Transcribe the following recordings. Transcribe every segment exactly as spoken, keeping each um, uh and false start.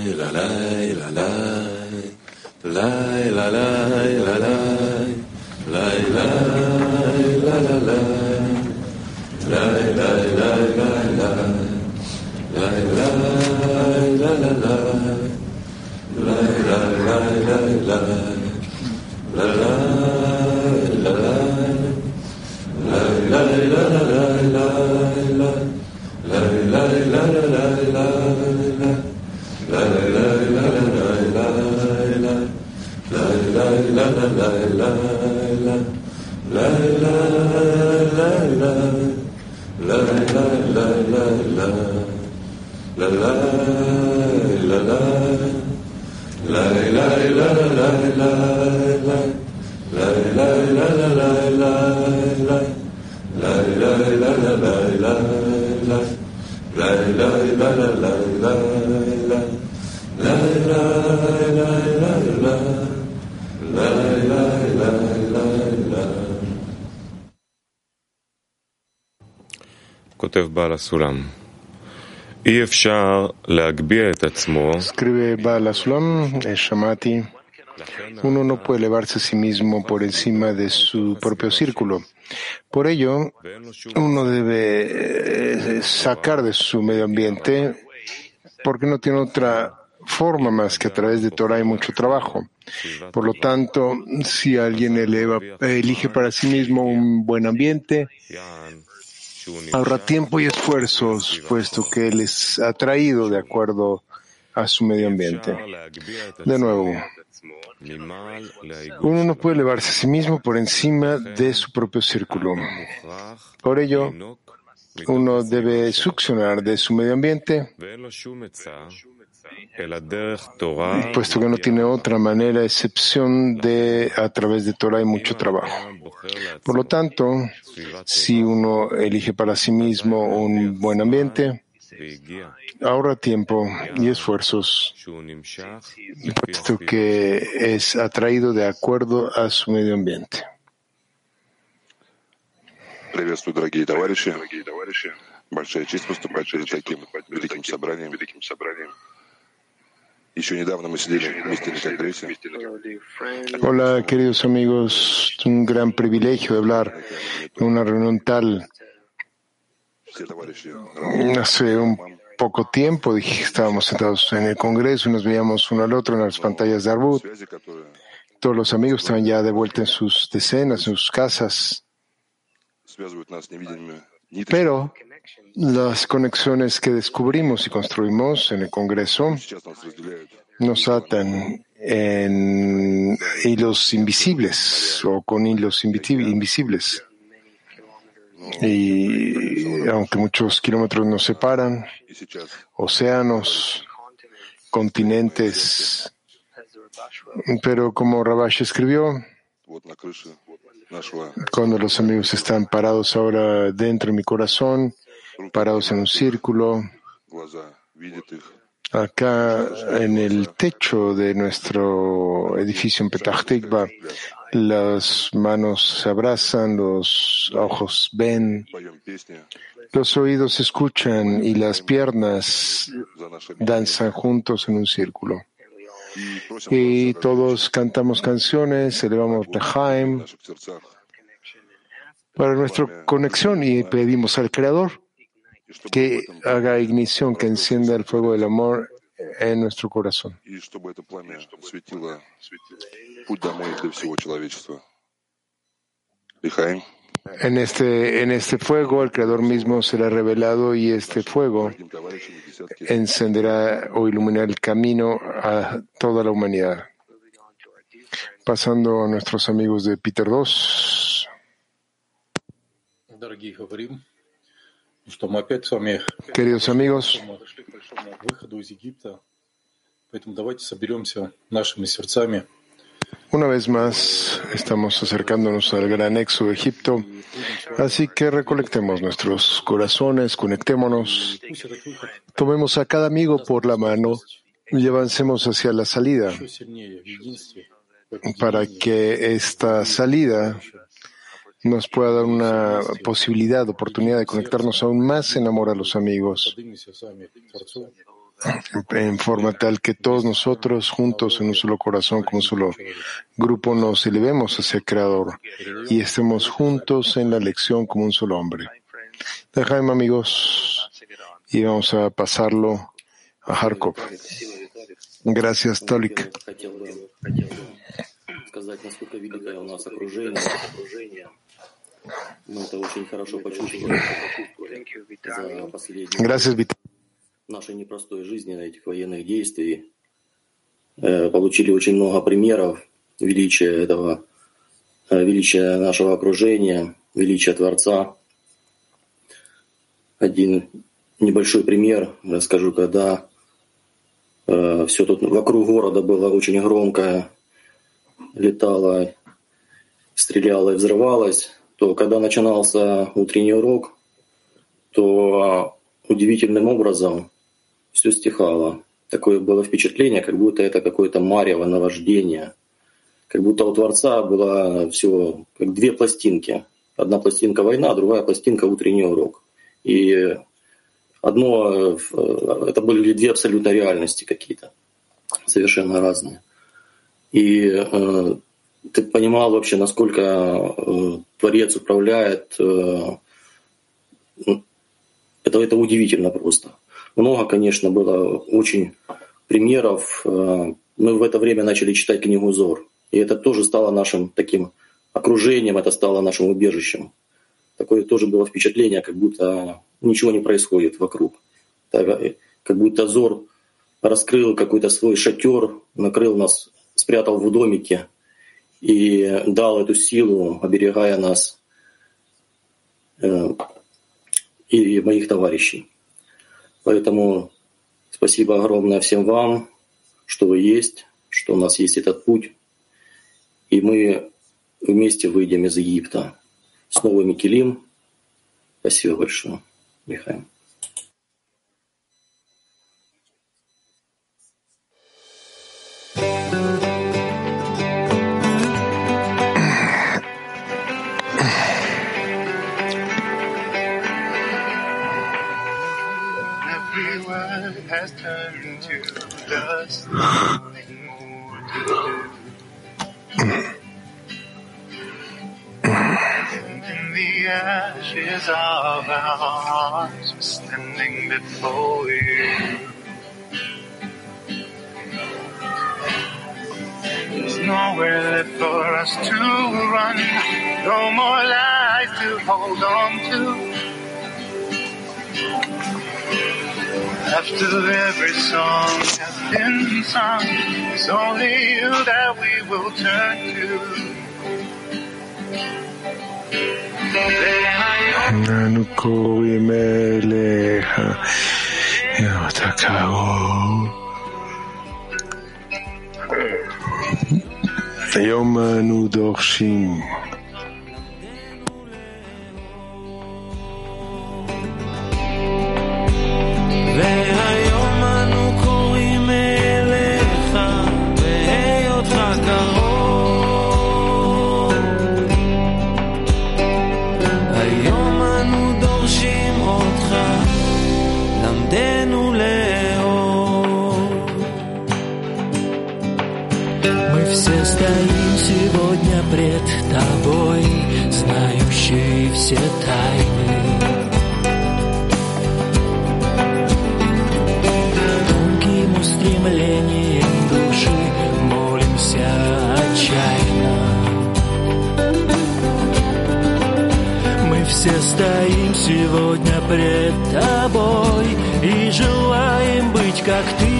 Escribe Baal HaSulam, Shamati. Uno no puede elevarse a sí mismo por encima de su propio círculo. Por ello, uno debe sacar de su medio ambiente porque no tiene otra forma más que a través de Torah y mucho trabajo. Por lo tanto, si alguien eleva, elige para sí mismo un buen ambiente, ahorra tiempo y esfuerzos, puesto que él es atraído de acuerdo a su medio ambiente. De nuevo, uno no puede elevarse a sí mismo por encima de su propio círculo. Por ello, uno debe succionar de su medio ambiente, puesto que no tiene otra manera, excepción de a través de Torah y mucho trabajo. Por lo tanto, si uno elige para sí mismo un buen ambiente, ahorra tiempo y esfuerzos, puesto que es atraído de acuerdo a su medio ambiente. Приветствую, дорогие товарищи. Большая честь выступать перед таким великим собранием. Еще недавно мы сидели вместе на конгрессе. Hola, queridos amigos. Es un gran privilegio hablar en una reunión tal. Hace un poco tiempo dije que estábamos sentados en el Congreso y nos veíamos uno al otro en las pantallas de Arbut. Todos los amigos estaban ya de vuelta en sus decenas, en sus casas. Pero las conexiones que descubrimos y construimos en el Congreso nos atan en hilos invisibles o con hilos invisibles. Y aunque muchos kilómetros nos separan, océanos, continentes, pero como Rabash escribió, cuando los amigos están parados ahora dentro de mi corazón, parados en un círculo, acá en el techo de nuestro edificio en Petah Tikva, las manos se abrazan, los ojos ven, los oídos escuchan y las piernas danzan juntos en un círculo. Y todos cantamos canciones, elevamos Lejaim para nuestra conexión y pedimos al Creador que haga ignición, que encienda el fuego del amor en nuestro corazón. En este, en este fuego, el Creador mismo será revelado y este fuego encenderá o iluminará el camino a toda la humanidad. Pasando a nuestros amigos de Peter dos. Queridos amigos, una vez más estamos acercándonos al gran éxodo de Egipto, así que recolectemos nuestros corazones, conectémonos, tomemos a cada amigo por la mano y avancemos hacia la salida, para que esta salida nos pueda dar una posibilidad, oportunidad de conectarnos aún más en amor a los amigos. en forma tal que todos nosotros juntos en un solo corazón, como un solo grupo, nos elevemos hacia el Creador y estemos juntos en la lección como un solo hombre. Dejaim, amigos, y vamos a pasarlo a Harkov. Gracias, Tolik. Gracias, Vital. Нашей непростой жизни, на этих военных действий. Получили очень много примеров величия этого, величия нашего окружения, величия Творца. Один небольшой пример расскажу, когда э, все тут вокруг города было очень громко, летало, стреляло и взрывалось, то когда начинался утренний урок, то удивительным образом все стихало. Такое было впечатление, как будто это какое-то марево, наваждение. Как будто у Творца было все как две пластинки. Одна пластинка война, другая пластинка утренний урок. И одно, это были две абсолютно реальности какие-то, совершенно разные. И э, ты понимал вообще, насколько э, Творец управляет. Э, это, это удивительно просто. Много, конечно, было очень примеров. Мы в это время начали читать книгу Зор. И это тоже стало нашим таким окружением, это стало нашим убежищем. Такое тоже было впечатление, как будто ничего не происходит вокруг. Как будто Зор раскрыл какой-то свой шатер, накрыл нас, спрятал в домике и дал эту силу, оберегая нас и моих товарищей. Поэтому спасибо огромное всем вам, что вы есть, что у нас есть этот путь. И мы вместе выйдем из Египта с новыми килим. Спасибо большое, Михаил. Has turned to dust, nothing more to do. And in the ashes of our hearts, we're standing before you. There's nowhere left for us to run, no more lies to hold on to. After every song has been sung, it's only you that we will turn to. אנו קוראים אליך, אתה קרוב. היום אנו דורשים. והיום אנו קוראים אליך, בהיותך קרוב. היום אנו דורשים אותך, למדנו לאהוב. Мы все стоим сегодня пред тобой, знающие все тайны. Стремлением души молимся отчаянно. Мы все стоим сегодня пред тобой и желаем быть как ты,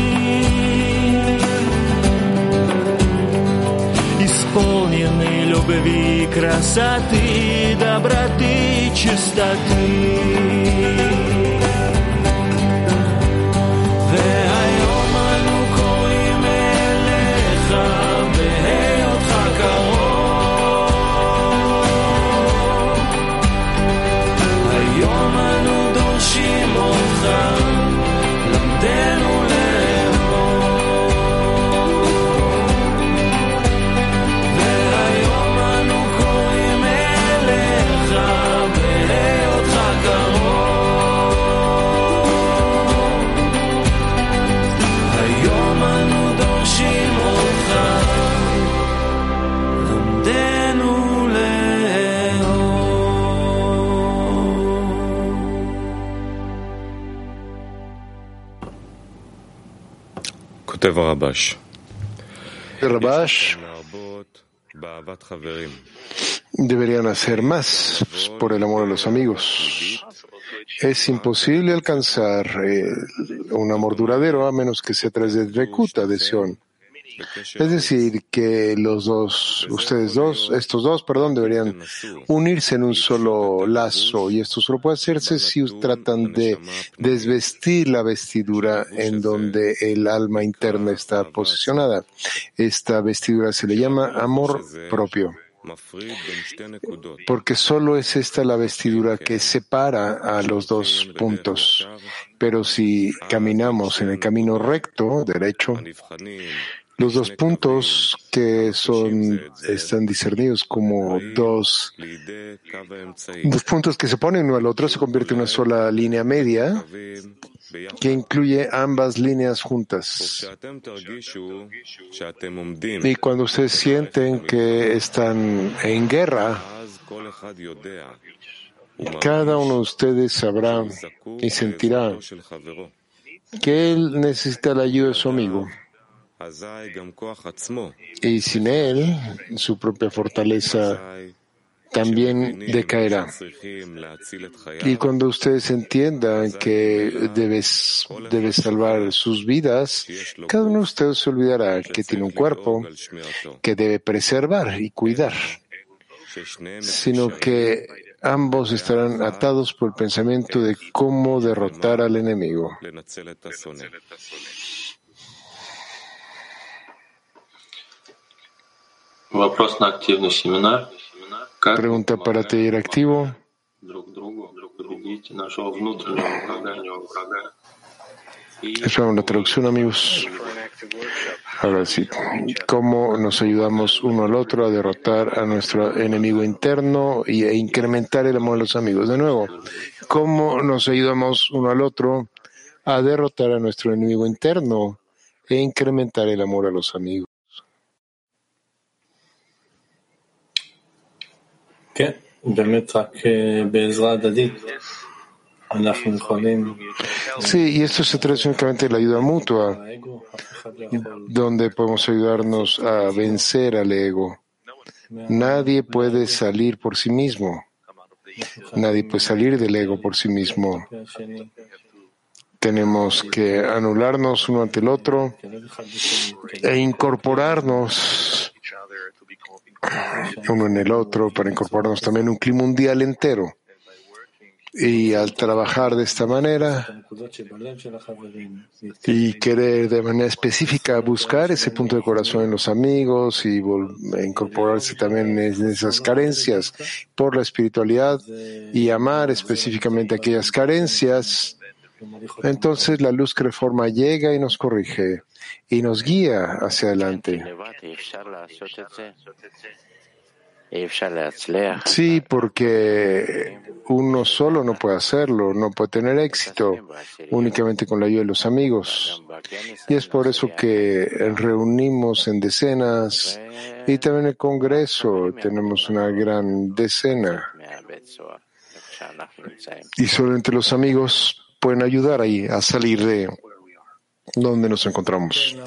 исполнены любви, красоты, доброты, чистоты. והיום אנו קוראים אליך, בהיותך קרוב. Rabash, deberían hacer más por el amor a los amigos. Es imposible alcanzar eh, un amor duradero a menos que sea a través de Dvekut, adhesión. Es decir, que los dos, ustedes dos, estos dos, perdón, deberían unirse en un solo lazo, y esto solo puede hacerse si tratan de desvestir la vestidura en donde el alma interna está posicionada. Esta vestidura se le llama amor propio, porque solo es esta la vestidura que separa a los dos puntos. Pero si caminamos en el camino recto, derecho, los dos puntos que son, están discernidos como dos, dos puntos que se ponen uno al otro se convierte en una sola línea media que incluye ambas líneas juntas. Y cuando ustedes sienten que están en guerra, cada uno de ustedes sabrá y sentirá que él necesita la ayuda de su amigo. Y sin él, su propia fortaleza también decaerá. Y cuando ustedes entiendan que debes, debes salvar sus vidas, cada uno de ustedes se olvidará que tiene un cuerpo que debe preservar y cuidar, sino que ambos estarán atados por el pensamiento de cómo derrotar al enemigo. Pregunta para taller activo. Esa es la traducción, amigos. Ahora sí, ¿cómo nos ayudamos uno al otro a derrotar a nuestro enemigo interno y a incrementar el amor a los amigos? De nuevo, ¿cómo nos ayudamos uno al otro a derrotar a nuestro enemigo interno e incrementar el amor a los amigos? Sí, y esto se trata únicamente de la ayuda mutua, donde podemos ayudarnos a vencer al ego. Nadie puede salir por sí mismo. Nadie puede salir del ego por sí mismo. Tenemos que anularnos uno ante el otro e incorporarnos uno en el otro para incorporarnos también en un clima mundial entero. Y al trabajar de esta manera y querer de manera específica buscar ese punto de corazón en los amigos y incorporarse también en esas carencias por la espiritualidad y amar específicamente aquellas carencias, entonces la luz que reforma llega y nos corrige y nos guía hacia adelante. Sí, porque uno solo no puede hacerlo, no puede tener éxito únicamente con la ayuda de los amigos. Y es por eso que reunimos en decenas y también en el Congreso tenemos una gran decena. Y solamente los amigos pueden ayudar ahí a salir de donde nos encontramos.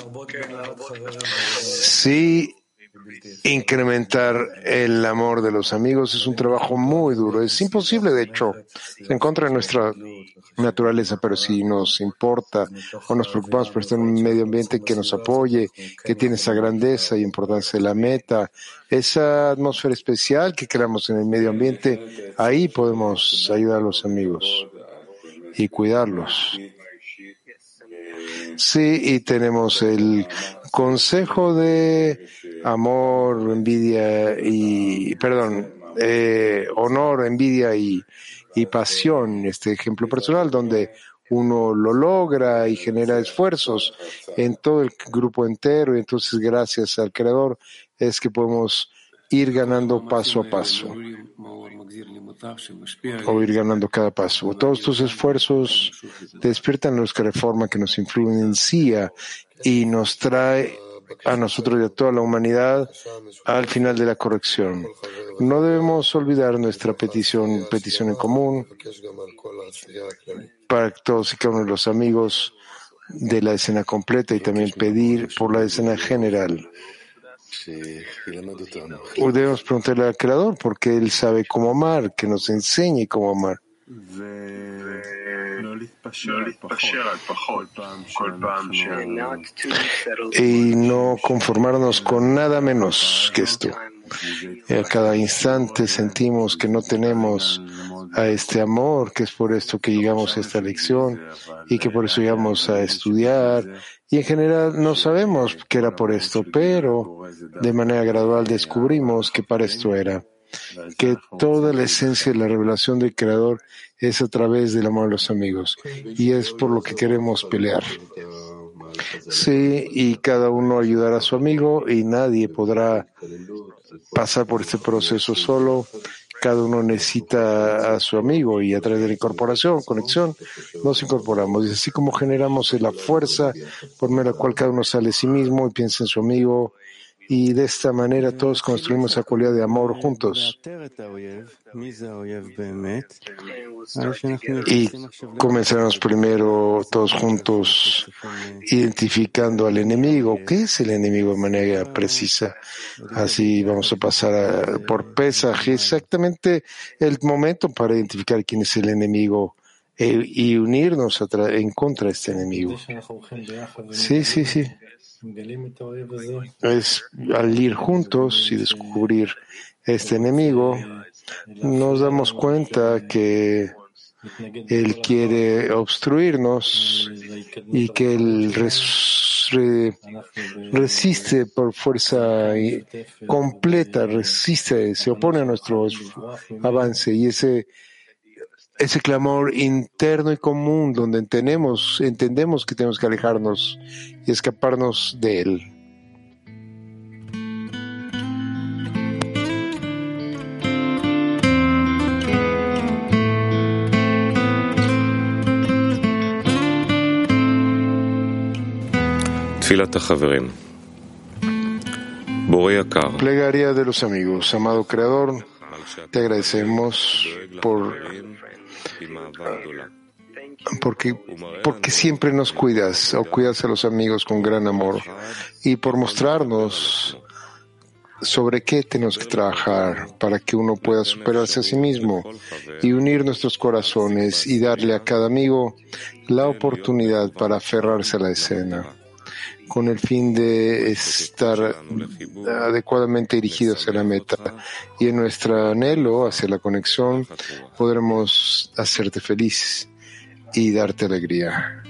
Sí. Incrementar el amor de los amigos es un trabajo muy duro. Es imposible, de hecho, se encuentra en nuestra naturaleza, pero si nos importa o nos preocupamos por estar en un medio ambiente que nos apoye, que tiene esa grandeza y importancia de la meta, esa atmósfera especial que creamos en el medio ambiente, ahí podemos ayudar a los amigos y cuidarlos. Sí, y tenemos el consejo de amor, envidia y, perdón, eh, honor, envidia y, y pasión, este ejemplo personal donde uno lo logra y genera esfuerzos en todo el grupo entero, y entonces gracias al Creador es que podemos ir ganando paso a paso o ir ganando cada paso. Todos estos esfuerzos despiertan luz que reforma, que nos influencia y nos trae a nosotros y a toda la humanidad al final de la corrección. No debemos olvidar nuestra petición, petición en común para que todos y cada uno de los amigos de la escena completa y también pedir por la escena general. O debemos preguntarle al Creador porque Él sabe cómo amar, que nos enseñe cómo amar. Y no conformarnos con nada menos que esto. Y a cada instante sentimos que no tenemos a este amor, que es por esto que llegamos a esta lección y que por eso llegamos a estudiar. Y en general no sabemos que era por esto, pero de manera gradual descubrimos que para esto era. Que toda la esencia de la revelación del Creador es a través del amor a los amigos. Y es por lo que queremos pelear. Sí, y cada uno ayudará a su amigo y nadie podrá pasar por este proceso solo. Cada uno necesita a su amigo y a través de la incorporación, conexión, nos incorporamos. Y así como generamos la fuerza por medio de la cual cada uno sale de sí mismo y piensa en su amigo, y de esta manera todos construimos esa cualidad de amor juntos. Y comenzaremos primero todos juntos identificando al enemigo. ¿Qué es el enemigo de manera precisa? Así vamos a pasar a, por Pesaj, exactamente el momento para identificar quién es el enemigo eh, y unirnos a tra- en contra de este enemigo. Sí, sí, sí. Es al ir juntos y descubrir este enemigo, nos damos cuenta que él quiere obstruirnos y que él res, re, resiste por fuerza completa, resiste, se opone a nuestro avance y ese ese clamor interno y común donde entendemos, entendemos que tenemos que alejarnos y escaparnos de él. Plegaria de los amigos. Amado Creador, te agradecemos por Porque, porque siempre nos cuidas o cuidas a los amigos con gran amor y por mostrarnos sobre qué tenemos que trabajar para que uno pueda superarse a sí mismo y unir nuestros corazones y darle a cada amigo la oportunidad para aferrarse a la escena con el fin de estar adecuadamente dirigidos hacia la meta y en nuestro anhelo hacia la conexión podremos hacerte feliz y darte alegría.